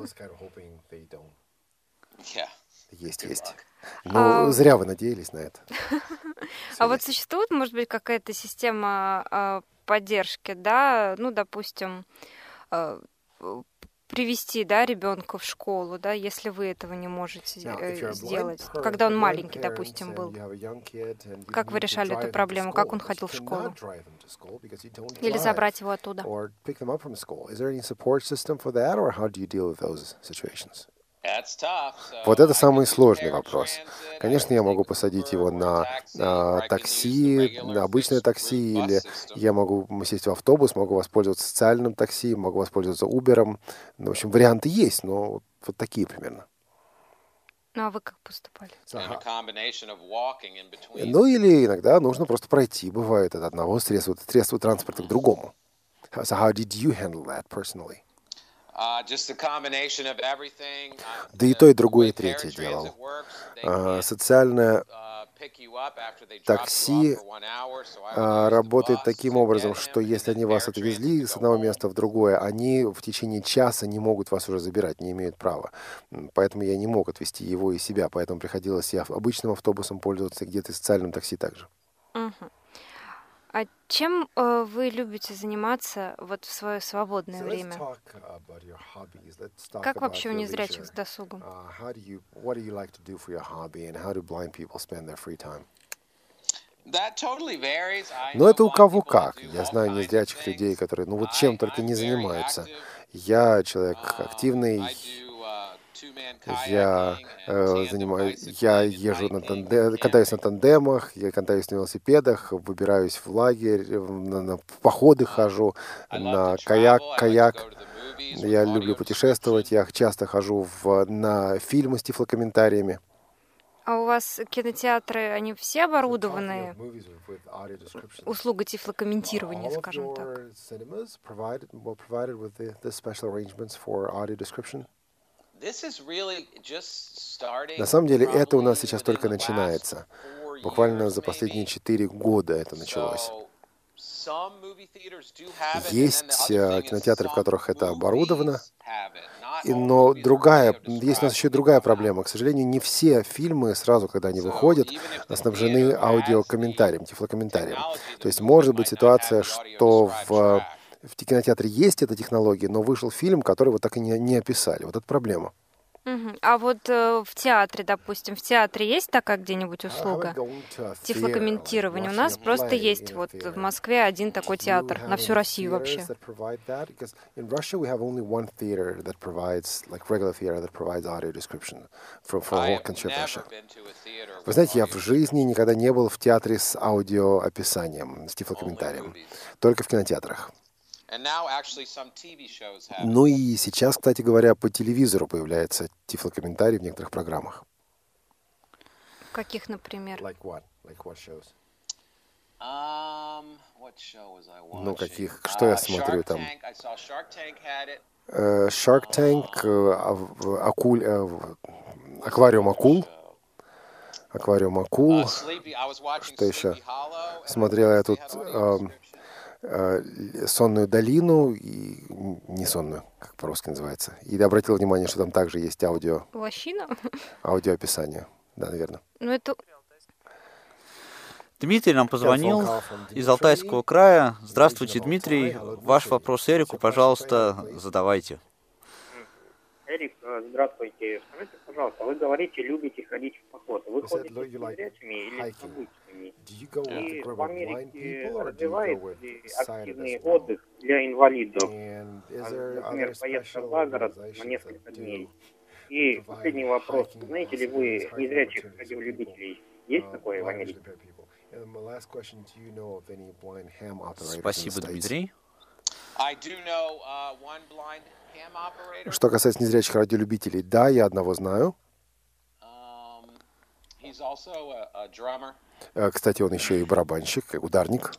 Есть, есть. Ну, а... зря вы надеялись на это. А вот существует, может быть, какая-то система э, поддержки, да, ну, допустим, э, привести, да, ребенка в школу, да, если вы этого не можете э, сделать, когда он маленький, допустим, был. Как вы решали эту проблему? Как он ходил в школу? Или забрать его оттуда? Вот это самый сложный вопрос. Конечно, я могу посадить его на а, такси, на обычное такси, или я могу сесть в автобус, могу воспользоваться социальным такси, могу воспользоваться Uber. Ну, в общем, варианты есть, но вот такие примерно. Ну, а вы как поступали? Ну, или иногда нужно просто пройти, бывает, от одного средства, средства транспорта к другому. So how did you handle that personally? Да и то, и другое, и третье делал. А, социальное такси а, работает таким образом, что если они вас отвезли с одного места в другое, они в течение часа не могут вас уже забирать, не имеют права. Поэтому я не мог отвезти его и себя, поэтому приходилось я обычным автобусом пользоваться, где-то социальным такси также. Uh-huh. А чем э, вы любите заниматься вот в свое свободное время? Как вообще у незрячих с досугом? Но это у кого как. Я знаю незрячих людей, которые, ну вот чем только не занимаются. Я человек активный. Я э, занимаюсь, я езжу на тандем, катаюсь на тандемах, я катаюсь на велосипедах, выбираюсь в лагерь, на, на походы хожу, на каяк, каяк. Я люблю путешествовать, я часто хожу в, на фильмы с тифлокомментариями. А у вас кинотеатры, они все оборудованы услугой тифлокомментирования, скажем так? На самом деле это у нас сейчас только начинается. Буквально за последние четыре года это началось. Есть кинотеатры, в которых это оборудовано, но другая, есть у нас еще другая проблема. К сожалению, не все фильмы сразу, когда они выходят, снабжены аудиокомментарием, тифлокомментарием. То есть может быть ситуация, что в В кинотеатре есть эта технология, но вышел фильм, который вот так и не, не описали. Вот это проблема. Uh-huh. А вот э, в театре, допустим, в театре есть такая где-нибудь услуга тифлокомментирования? У нас просто есть вот в Москве один такой театр на всю Россию вообще. Вы знаете, я в жизни никогда не был в театре с аудиоописанием, с тифлокомментарием. Только в кинотеатрах. Ну и сейчас, кстати говоря, по телевизору появляется тифлокомментарий в некоторых программах. Каких, например? Like what? Like what shows? Um, what show was I watching? Ну, каких? Что uh, я смотрю там? Uh, Shark Tank, uh, акуль, uh, аквариум акул. Аквариум акул. Что еще? Смотрел я тут... Uh, «Сонную долину», и не «Сонную», как по-русски называется. И обратил внимание, что там также есть аудио. Лощина? Аудиоописание, да, наверное. Ну, это... Дмитрий нам позвонил из Алтайского края. Здравствуйте, Дмитрий. Ваш вопрос Эрику, пожалуйста, задавайте. Эрик, здравствуйте. Скажите, пожалуйста, вы говорите, любите ходить в поход. Вы ходите с незрячими или с обычными? И в Америке развивается активный отдых для инвалидов. Например, поездка за город на несколько дней. И последний вопрос. Знаете ли вы незрячих радиолюбителей? Есть такое в Америке? Спасибо, Дмитрий. Что касается незрячих радиолюбителей, да, я одного знаю. Кстати, он еще и барабанщик, ударник.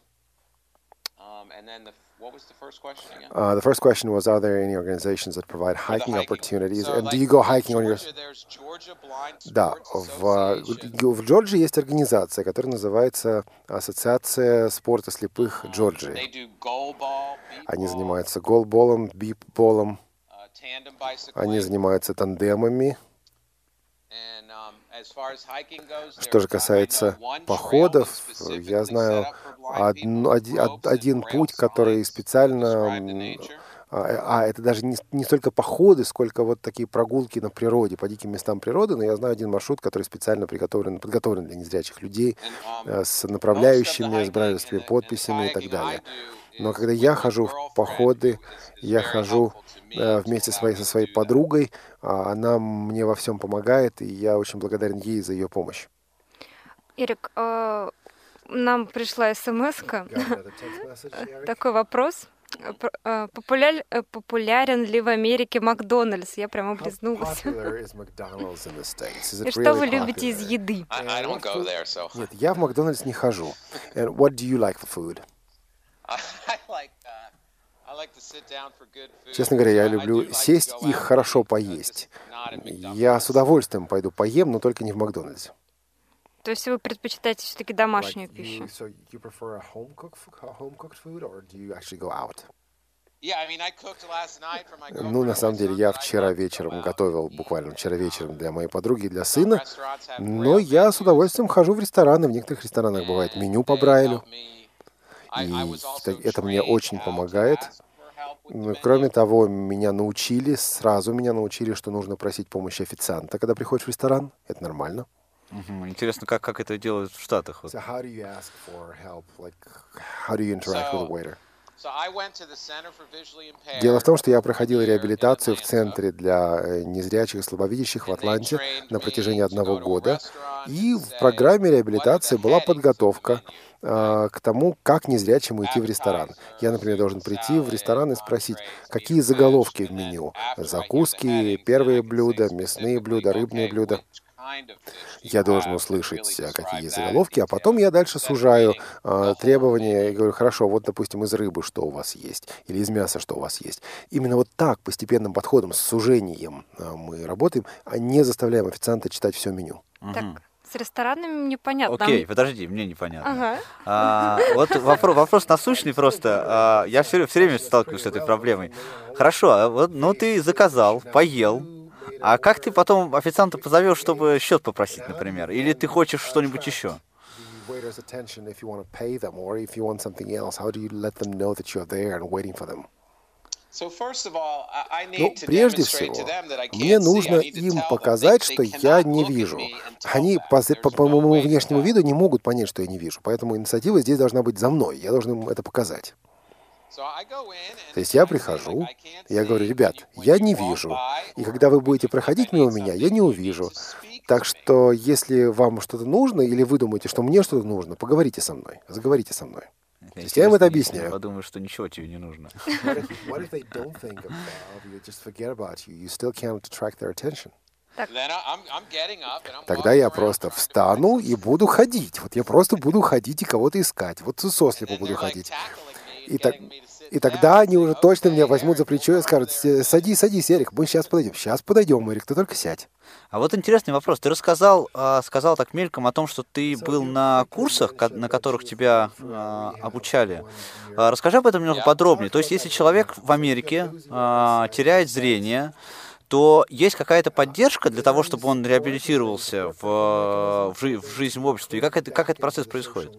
Uh, the first question was, are there any organizations that provide hiking opportunities? And do you go hiking on your... Да, в, в Джорджии есть организация, которая называется Ассоциация спорта слепых Джорджии. Они занимаются голболом, бипболом, они занимаются тандемами. Что же касается походов, я знаю один, один, один путь, который специально... А, а это даже не, не столько походы, сколько вот такие прогулки на природе, по диким местам природы, но я знаю один маршрут, который специально приготовлен, подготовлен для незрячих людей, с направляющими, с брайлевскими подписями и так далее. Но когда я хожу в походы, я хожу вместе со своей, со своей подругой, она мне во всем помогает, и я очень благодарен ей за ее помощь. Эрик, нам пришла смс-ка. Такой вопрос. Популяр, популярен ли в Америке Макдональдс? Я прямо облизнулась. И что вы любите из еды? Нет, я в Макдональдс не хожу. And what do you like for food? Честно говоря, я люблю сесть и хорошо поесть. Я с удовольствием пойду поем, но только не в Макдональдсе. То есть вы предпочитаете все-таки домашнюю пищу? Ну, на самом деле, я вчера вечером готовил, буквально вчера вечером для моей подруги, для сына, но я с удовольствием хожу в рестораны. В некоторых ресторанах бывает меню по Брайлю, и это мне очень помогает. Кроме того, меня научили, сразу меня научили, что нужно просить помощи официанта, когда приходишь в ресторан. Это нормально. Угу. Интересно, как, как это делают в Штатах? So how do you ask for help? Like, how do you interact with a waiter? Дело в том, что я проходил реабилитацию в центре для незрячих и слабовидящих в Атланте на протяжении одного года. И в программе реабилитации была подготовка э, к тому, как незрячему идти в ресторан. Я, например, должен прийти в ресторан и спросить, какие заголовки в меню. Закуски, первые блюда, мясные блюда, рыбные блюда. Я должен услышать, какие есть заголовки, а потом я дальше сужаю э, требования и говорю, хорошо, вот, допустим, из рыбы что у вас есть, или из мяса что у вас есть. Именно вот так, постепенным подходом, с сужением э, мы работаем, а не заставляем официанта читать все меню. Так, с ресторанами непонятно. Окей, подожди, мне непонятно. Ага. А, вот вопрос, вопрос насущный просто. А, я все, все время сталкиваюсь с этой проблемой. Хорошо, а вот, ну ты заказал, поел. А как ты потом официанта позовешь, чтобы счет попросить, например? Или ты хочешь что-нибудь еще? Ну, прежде всего, мне нужно им показать, что я не вижу. Они по, по, по моему внешнему виду не могут понять, что я не вижу. Поэтому инициатива здесь должна быть за мной. Я должен им это показать. То есть я прихожу, я говорю, ребят, я не вижу, и когда вы будете проходить мимо меня, я не увижу. Так что, если вам что-то нужно, или вы думаете, что мне что-то нужно, поговорите со мной, заговорите со мной. То есть я им это объясняю. Я подумаю, что ничего тебе не нужно. Тогда я просто встану и буду ходить. Вот я просто буду ходить и кого-то искать. Вот сослепу буду ходить. И, так, и тогда они уже точно меня возьмут за плечо и скажут, садись, садись, Эрик, мы сейчас подойдем. Сейчас подойдем, Эрик, ты только сядь. А вот интересный вопрос. Ты рассказал, сказал так мельком о том, что ты был на курсах, на которых тебя обучали. Расскажи об этом немного подробнее. То есть, если человек в Америке теряет зрение, то есть какая-то поддержка для того, чтобы он реабилитировался в, в, жи- в жизнь в обществе? И как, это, как этот процесс происходит?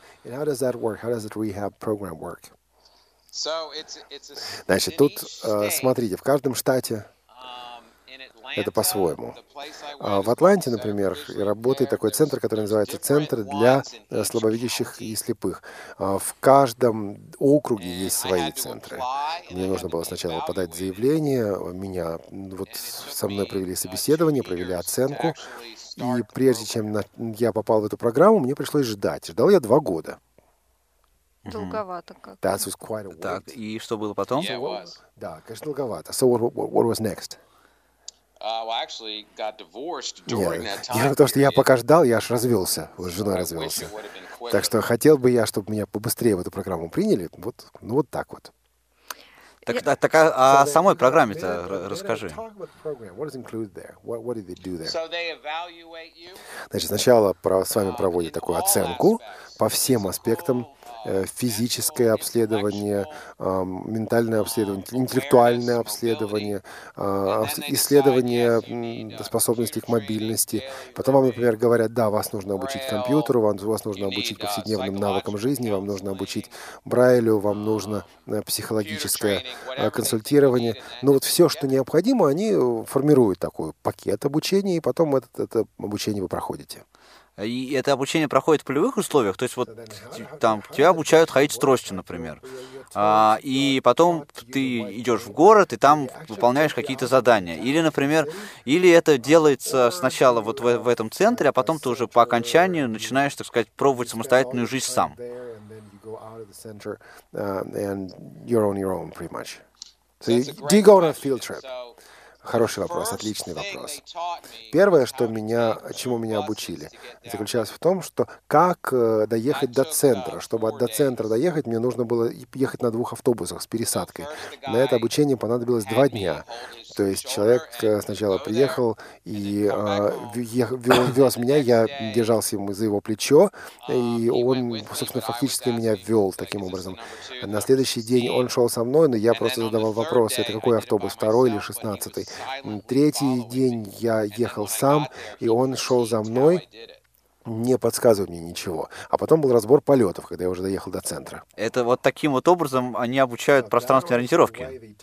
Значит, тут, смотрите, в каждом штате это по-своему. В Атланте, например, работает такой центр, который называется Центр для слабовидящих и слепых. В каждом округе есть свои центры. Мне нужно было сначала подать заявление, меня вот со мной провели собеседование, провели оценку, и прежде чем я попал в эту программу, мне пришлось ждать. Ждал я два года. Долговато как. Так, и что было потом? Да, конечно, долговато. So what, what, what was next? Нет, дело в том, что я пока ждал, я аж развелся, вот с женой развелся. Так что хотел бы я, чтобы меня побыстрее в эту программу приняли. Вот, ну вот так вот. Так, так, так а о самой программе-то расскажи. Значит, сначала с вами проводят такую оценку по всем аспектам: физическое обследование, ментальное обследование, интеллектуальное обследование, исследование способностей к мобильности. Потом вам, например, говорят: да, вас нужно обучить компьютеру, вам, вас нужно обучить повседневным навыкам жизни, вам нужно обучить Брайлю, вам нужно психологическое консультирование. Но вот все, что необходимо, они формируют такой пакет обучения, и потом это, это обучение вы проходите. И это обучение проходит в полевых условиях, то есть вот там тебя обучают ходить с тростью, например, а, и потом ты идешь в город и там выполняешь какие-то задания, или, например, или это делается сначала вот в, в этом центре, а потом ты уже по окончанию начинаешь, так сказать, пробовать самостоятельную жизнь сам. Хороший вопрос, отличный вопрос. Первое, что меня, чему меня обучили, заключалось в том, что как доехать до центра. Чтобы до центра доехать, мне нужно было ехать на двух автобусах с пересадкой. На это обучение понадобилось два дня. То есть человек сначала приехал и э, вез меня, я держался ему за его плечо, и он, собственно, фактически меня вел таким образом. На следующий день он шел со мной, но я просто задавал вопросы: это какой автобус, второй или шестнадцатый? Третий день я ехал сам, и он шел за мной, не подсказывая мне ничего. А потом был разбор полетов, когда я уже доехал до центра. Это вот таким вот образом они обучают пространственной ориентировке?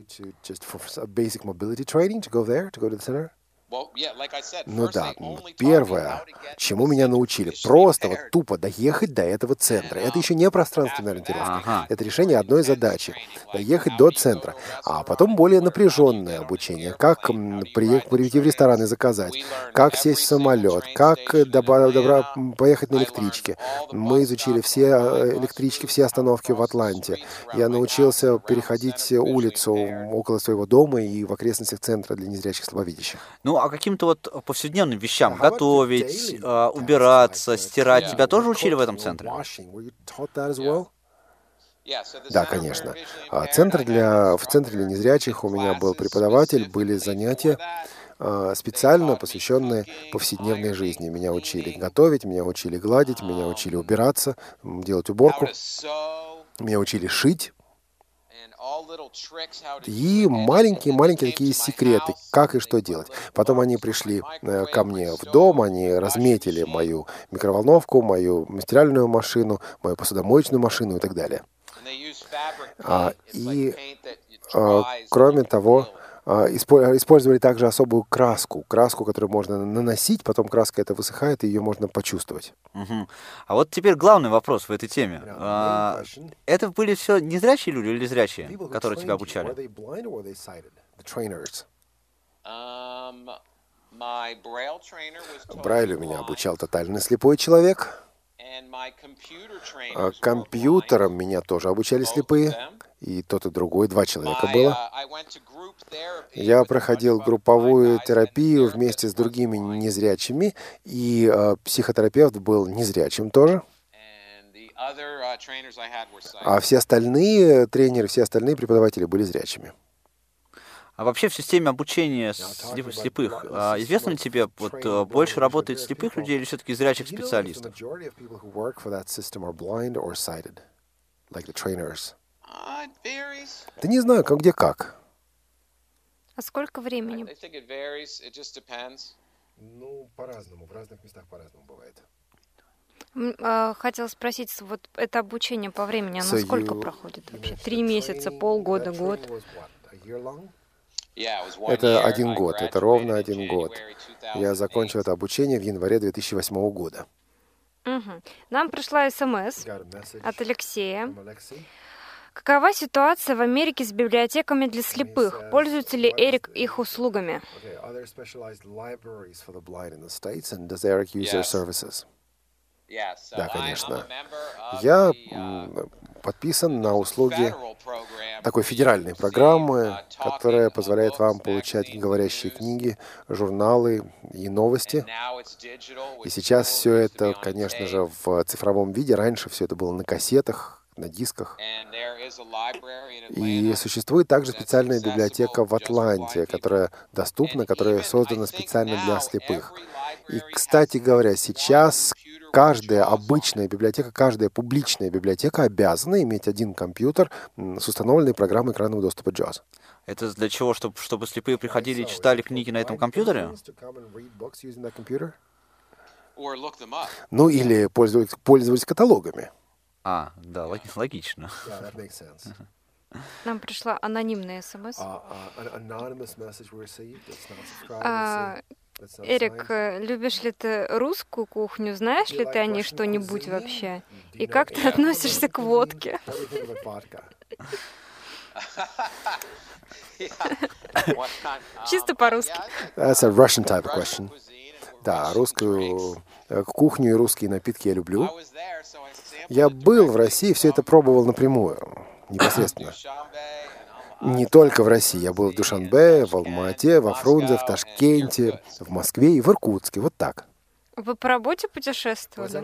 Ну да, первое, чему меня научили, просто вот тупо доехать до этого центра. Это еще не пространственная ориентировка, ага. Это решение одной задачи, доехать до центра. А потом более напряженное обучение, как приехать, прийти в ресторан и заказать, как сесть в самолет, как добра, добра, поехать на электричке. Мы изучили все электрички, все остановки в Атланте. Я научился переходить улицу около своего дома и в окрестностях центра для незрячих слабовидящих. Ну, а каким-то вот повседневным вещам, готовить, э, убираться, стирать, тебя тоже учили в этом центре? Да, конечно. А центр для, в центре для незрячих у меня был преподаватель, были занятия э, специально посвященные повседневной жизни. Меня учили готовить, меня учили гладить, меня учили убираться, делать уборку, меня учили шить. И маленькие-маленькие такие секреты, как и что делать. Потом они пришли ко мне в дом, они разметили мою микроволновку, мою стиральную машину, мою посудомоечную машину и так далее. А, и, а, кроме того, использовали также особую краску, краску, которую можно наносить, потом краска эта высыхает, и ее можно почувствовать. Угу. А вот теперь главный вопрос в этой теме. А, это были все незрячие люди или зрячие, которые тебя обучали? Брайлю меня обучал тотально слепой человек. А компьютером меня тоже обучали слепые. И тот, и другой, два человека было. Я проходил групповую терапию вместе с другими незрячими, и э, психотерапевт был незрячим тоже. А все остальные тренеры, все остальные преподаватели были зрячими. А вообще в системе обучения слепых, известно ли тебе, вот больше работает слепых людей или все-таки зрячих специалистов? Да не знаю, как где как. А сколько времени? Ну, по-разному, в разных местах по-разному бывает. Хотела спросить, вот это обучение по времени, оно so сколько you... проходит вообще? Три месяца, полгода, год? Это один год, это ровно один год. Я закончил это обучение в январе две тысячи восьмого года. Угу. Нам пришла СМС от Алексея. Какова ситуация в Америке с библиотеками для слепых? Пользуется ли Эрик их услугами? Да, конечно. Я подписан на услуги такой федеральной программы, которая позволяет вам получать говорящие книги, журналы и новости. И сейчас все это, конечно же, в цифровом виде. Раньше все это было на кассетах, на дисках. И существует также специальная библиотека в Атланте, которая доступна, которая создана специально для слепых. И, кстати говоря, сейчас каждая обычная библиотека, каждая публичная библиотека обязана иметь один компьютер с установленной программой экранного доступа джоз. Это для чего? Чтобы, чтобы слепые приходили и читали книги на этом компьютере? Ну, или пользовались, пользовались каталогами. А, да, логично. Нам пришла анонимная смс. А, Эрик, любишь ли ты русскую кухню? Знаешь ли ты о ней что-нибудь вообще? И как ты относишься к водке? Чисто по-русски. That's a Russian type of question. Да, русскую кухню и русские напитки я люблю. Я был в России, все это пробовал напрямую, непосредственно. Не только в России. Я был в Душанбе, в Алма-Ате, во Фрунзе, в Ташкенте, в Москве и в Иркутске. Вот так. Вы по работе путешествовали?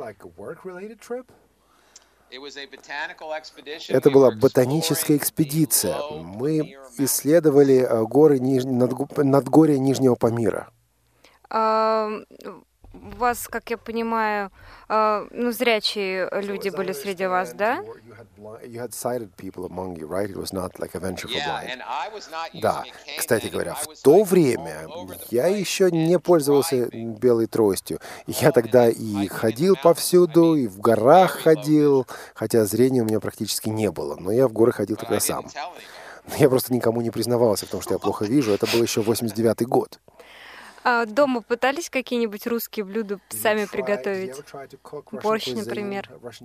Это была ботаническая экспедиция. Мы исследовали горы Ниж... Надгорья Нижнего Памира. А, у вас, как я понимаю, а, ну, зрячие люди были среди вас, да? Да, кстати говоря, в то время я еще не пользовался белой тростью. Я тогда и ходил повсюду, и в горах ходил, хотя зрения у меня практически не было, но я в горы ходил тогда сам. Я просто никому не признавался в том, что я плохо вижу. Это был еще восемьдесят девятый год. А дома пытались какие-нибудь русские блюда сами приготовить? Борщ, например?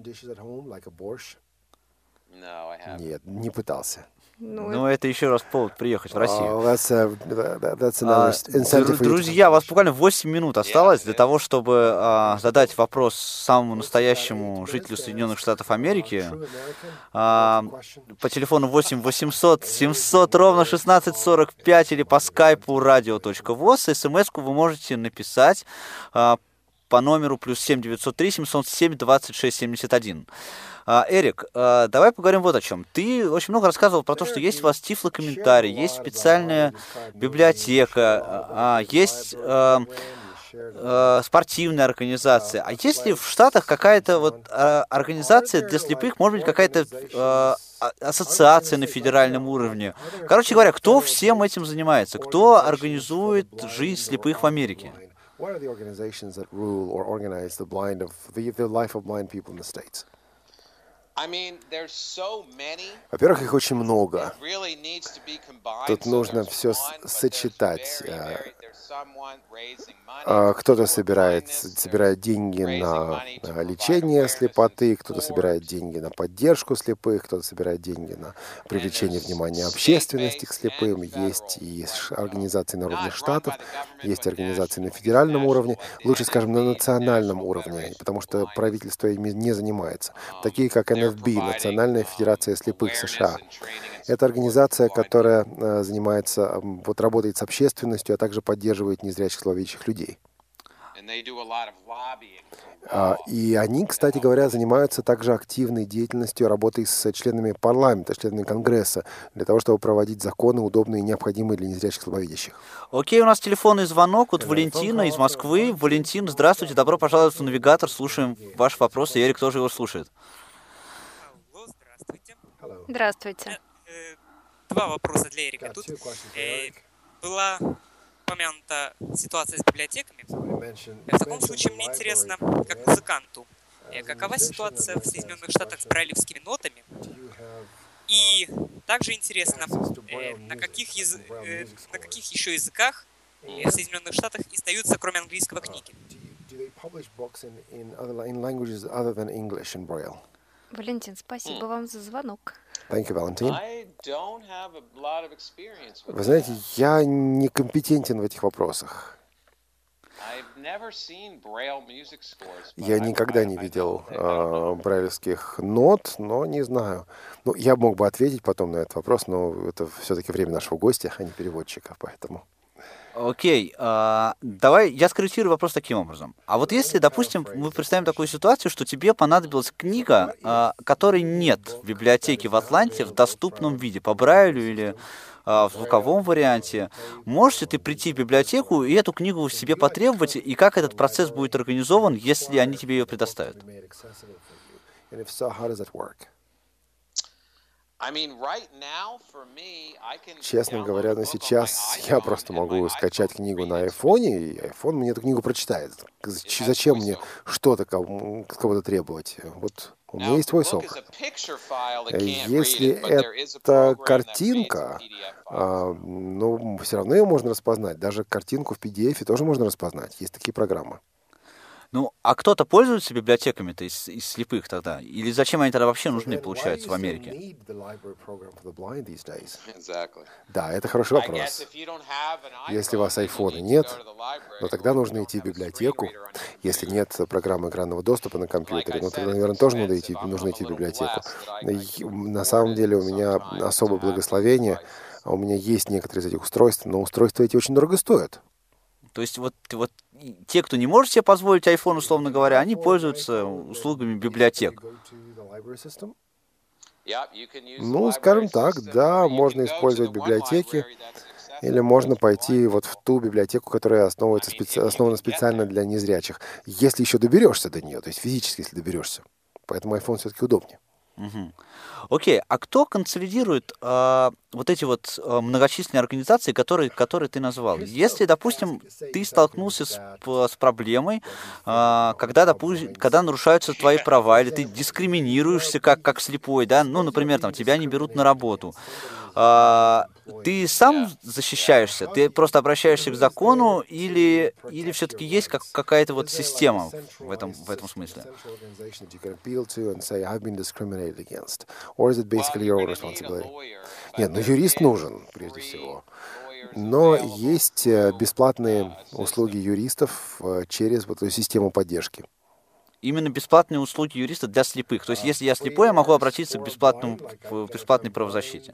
Нет, не пытался. Ну, ну, это еще раз повод приехать в Россию. Oh, that's a, that's another а, друзья, у вас буквально восемь минут осталось для того, чтобы а, задать вопрос самому настоящему жителю Соединенных Штатов Америки. А, по телефону восемь восемьсот семьсот ровно шестнадцать сорок пять или по скайпу radio.voz. СМС-ку вы можете написать а, по номеру плюс семь девятьсот три семьсот семь двадцать шесть семьдесят один. Эрик, давай поговорим вот о чем. Ты очень много рассказывал про то, что есть у вас тифлокомментарий, есть специальная библиотека, есть спортивная организация. А есть ли в Штатах какая-то вот организация для слепых, может быть, какая-то ассоциация на федеральном уровне? Короче говоря, кто всем этим занимается? Кто организует жизнь слепых в Америке? Во-первых, их очень много. Тут нужно все сочетать. Кто-то собирает, собирает деньги на лечение слепоты, кто-то собирает деньги на поддержку слепых, кто-то собирает деньги на привлечение внимания общественности к слепым. Есть и организации на уровне штатов, есть организации на федеральном уровне, лучше, скажем, на национальном уровне, потому что правительство ими не занимается. Такие как эн эф би, Национальная федерация слепых США. Это организация, которая занимается, вот работает с общественностью, а также поддерживает незрячих слабовидящих людей. И они, кстати говоря, занимаются также активной деятельностью, работой с членами парламента, членами Конгресса, для того, чтобы проводить законы, удобные и необходимые для незрячих слабовидящих. Окей, у нас телефонный звонок от Валентина из Москвы. Валентин, здравствуйте, добро пожаловать в «Навигатор». Слушаем ваш вопрос, и Эрик тоже его слушает. Здравствуйте. Два вопроса для Эрика. Тут э, была упомянута ситуация с библиотеками. В таком случае мне интересно, как музыканту, э, какова ситуация в Соединенных Штатах с брайлевскими нотами? И также интересно, э, на, каких яз... э, на каких еще языках э, в Соединенных Штатах издаются, кроме английского, книги? Валентин, спасибо mm. вам за звонок. Thank you, Valentin. Вы знаете, я некомпетентен в этих вопросах. Я никогда не видел э, брайлевских нот, но не знаю. Ну, я мог бы ответить потом на этот вопрос, но это все-таки время нашего гостя, а не переводчика, поэтому... Окей, okay, uh, давай я скорректирую вопрос таким образом. А вот если, допустим, мы представим такую ситуацию, что тебе понадобилась книга, uh, которой нет в библиотеке в Атланте в доступном виде, по Брайлю или uh, в звуковом варианте, можешь ли ты прийти в библиотеку и эту книгу себе потребовать, и как этот процесс будет организован, если они тебе ее предоставят? Честно говоря, на сейчас я просто могу скачать книгу на айфоне, и айфон мне эту книгу прочитает. Зачем мне что-то кого-то требовать? Вот у меня есть VoiceOver. Если это картинка, ну, все равно ее можно распознать. Даже картинку в пи ди эф тоже можно распознать. Есть такие программы. Ну, а кто-то пользуется библиотеками-то из, из слепых тогда? Или зачем они тогда вообще нужны, получается, в Америке? Да, это хороший вопрос. Если у вас айфона нет, то тогда нужно идти в библиотеку. Если нет программы экранного доступа на компьютере, ну, тогда, наверное, тоже нужно идти, нужно идти в библиотеку. На самом деле у меня особое благословение. У меня есть некоторые из этих устройств, но устройства эти очень дорого стоят. То есть вот, вот те, кто не может себе позволить iPhone, условно говоря, они пользуются услугами библиотек. Ну, скажем так, да, можно использовать библиотеки, или можно пойти вот в ту библиотеку, которая основывается, специ... основана специально для незрячих, если еще доберешься до нее, то есть физически, если доберешься. Поэтому iPhone все-таки удобнее. Угу. Окей, а кто консолидирует э, вот эти вот э, многочисленные организации, которые, которые ты назвал? Если, допустим, ты столкнулся с, с проблемой, э, когда, допустим, когда нарушаются твои права, или ты дискриминируешься как, как слепой, да, ну, например, там, тебя не берут на работу, э, ты сам защищаешься, ты просто обращаешься к закону, или, или все-таки есть как, какая-то вот система в этом, в этом смысле? Or is it basically your own responsibility? Нет, ну юрист нужен, прежде всего. Но есть бесплатные услуги юристов через вот эту систему поддержки. Именно бесплатные услуги юриста для слепых. То есть, если я слепой, я могу обратиться к бесплатному, к бесплатной правозащите.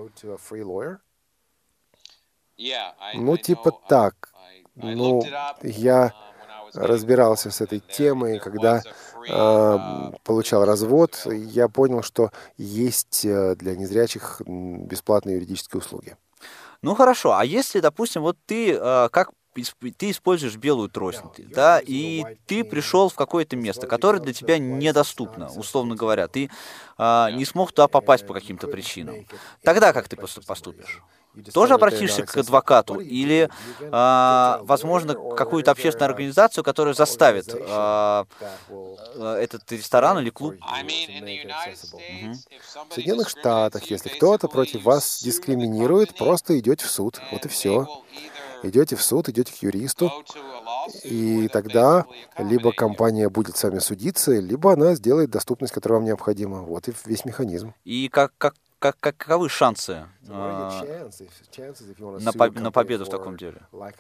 Ну, типа так. Ну, я разбирался с этой темой, когда э, получал развод, я понял, что есть для незрячих бесплатные юридические услуги. Ну хорошо, а если, допустим, вот ты э, как ты используешь белую трость, да, и ты пришел в какое-то место, которое для тебя недоступно, условно говоря, ты э, не смог туда попасть по каким-то причинам. Тогда как ты поступишь? Тоже обратишься к адвокату или, э, возможно, какую-то общественную организацию, которая заставит э, этот ресторан или клуб? Угу. В Соединенных Штатах, если кто-то против вас дискриминирует, просто идете в суд. Вот и все. Идете в суд, идете к юристу, и тогда либо компания будет с вами судиться, либо она сделает доступность, которая вам необходима. Вот и весь механизм. И как, как, как, каковы шансы э, на, по- на победу в таком деле?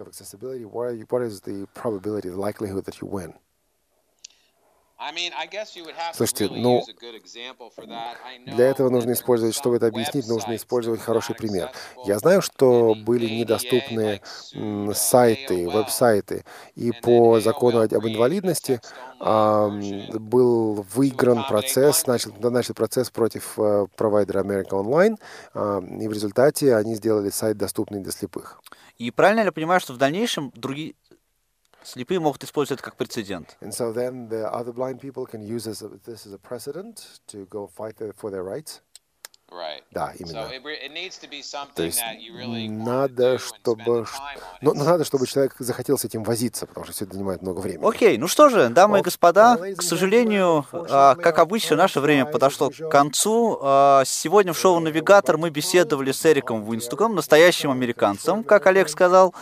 Слушайте, ну, для этого нужно использовать, чтобы это объяснить, нужно использовать хороший пример. Я знаю, что были недоступны сайты, веб-сайты, и по закону об инвалидности а, был выигран процесс, начал, начал процесс против а, провайдера America Online, а, и в результате они сделали сайт доступный для слепых. И правильно я понимаю, что в дальнейшем другие слепые могут использовать это как прецедент? And so then the other blind people can use this as a precedent to go fight for their rights. Right. Да, именно. So it, it needs to be something То есть that you really надо, чтобы, ну, надо, чтобы человек захотел с этим возиться, потому что все это занимает много времени. Окей, ну что же, дамы и господа, к сожалению, как обычно, наше время подошло к концу. Сегодня в шоу «Навигатор» мы беседовали с Эриком Уинстуком, настоящим американцем, как Олег сказал.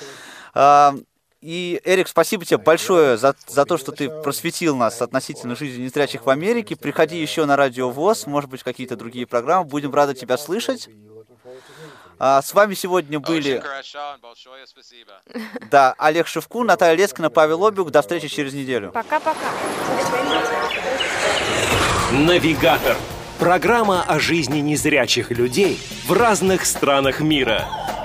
И, Эрик, спасибо тебе большое за, за то, что ты просветил нас относительно жизни незрячих в Америке. Приходи еще на Радио ВОС, может быть, какие-то другие программы. Будем рады тебя слышать. А, с вами сегодня были да, Олег Шевкун, Наталья Лескина, Павел Обиух. До встречи через неделю. Пока-пока. Навигатор. Программа о жизни незрячих людей в разных странах мира.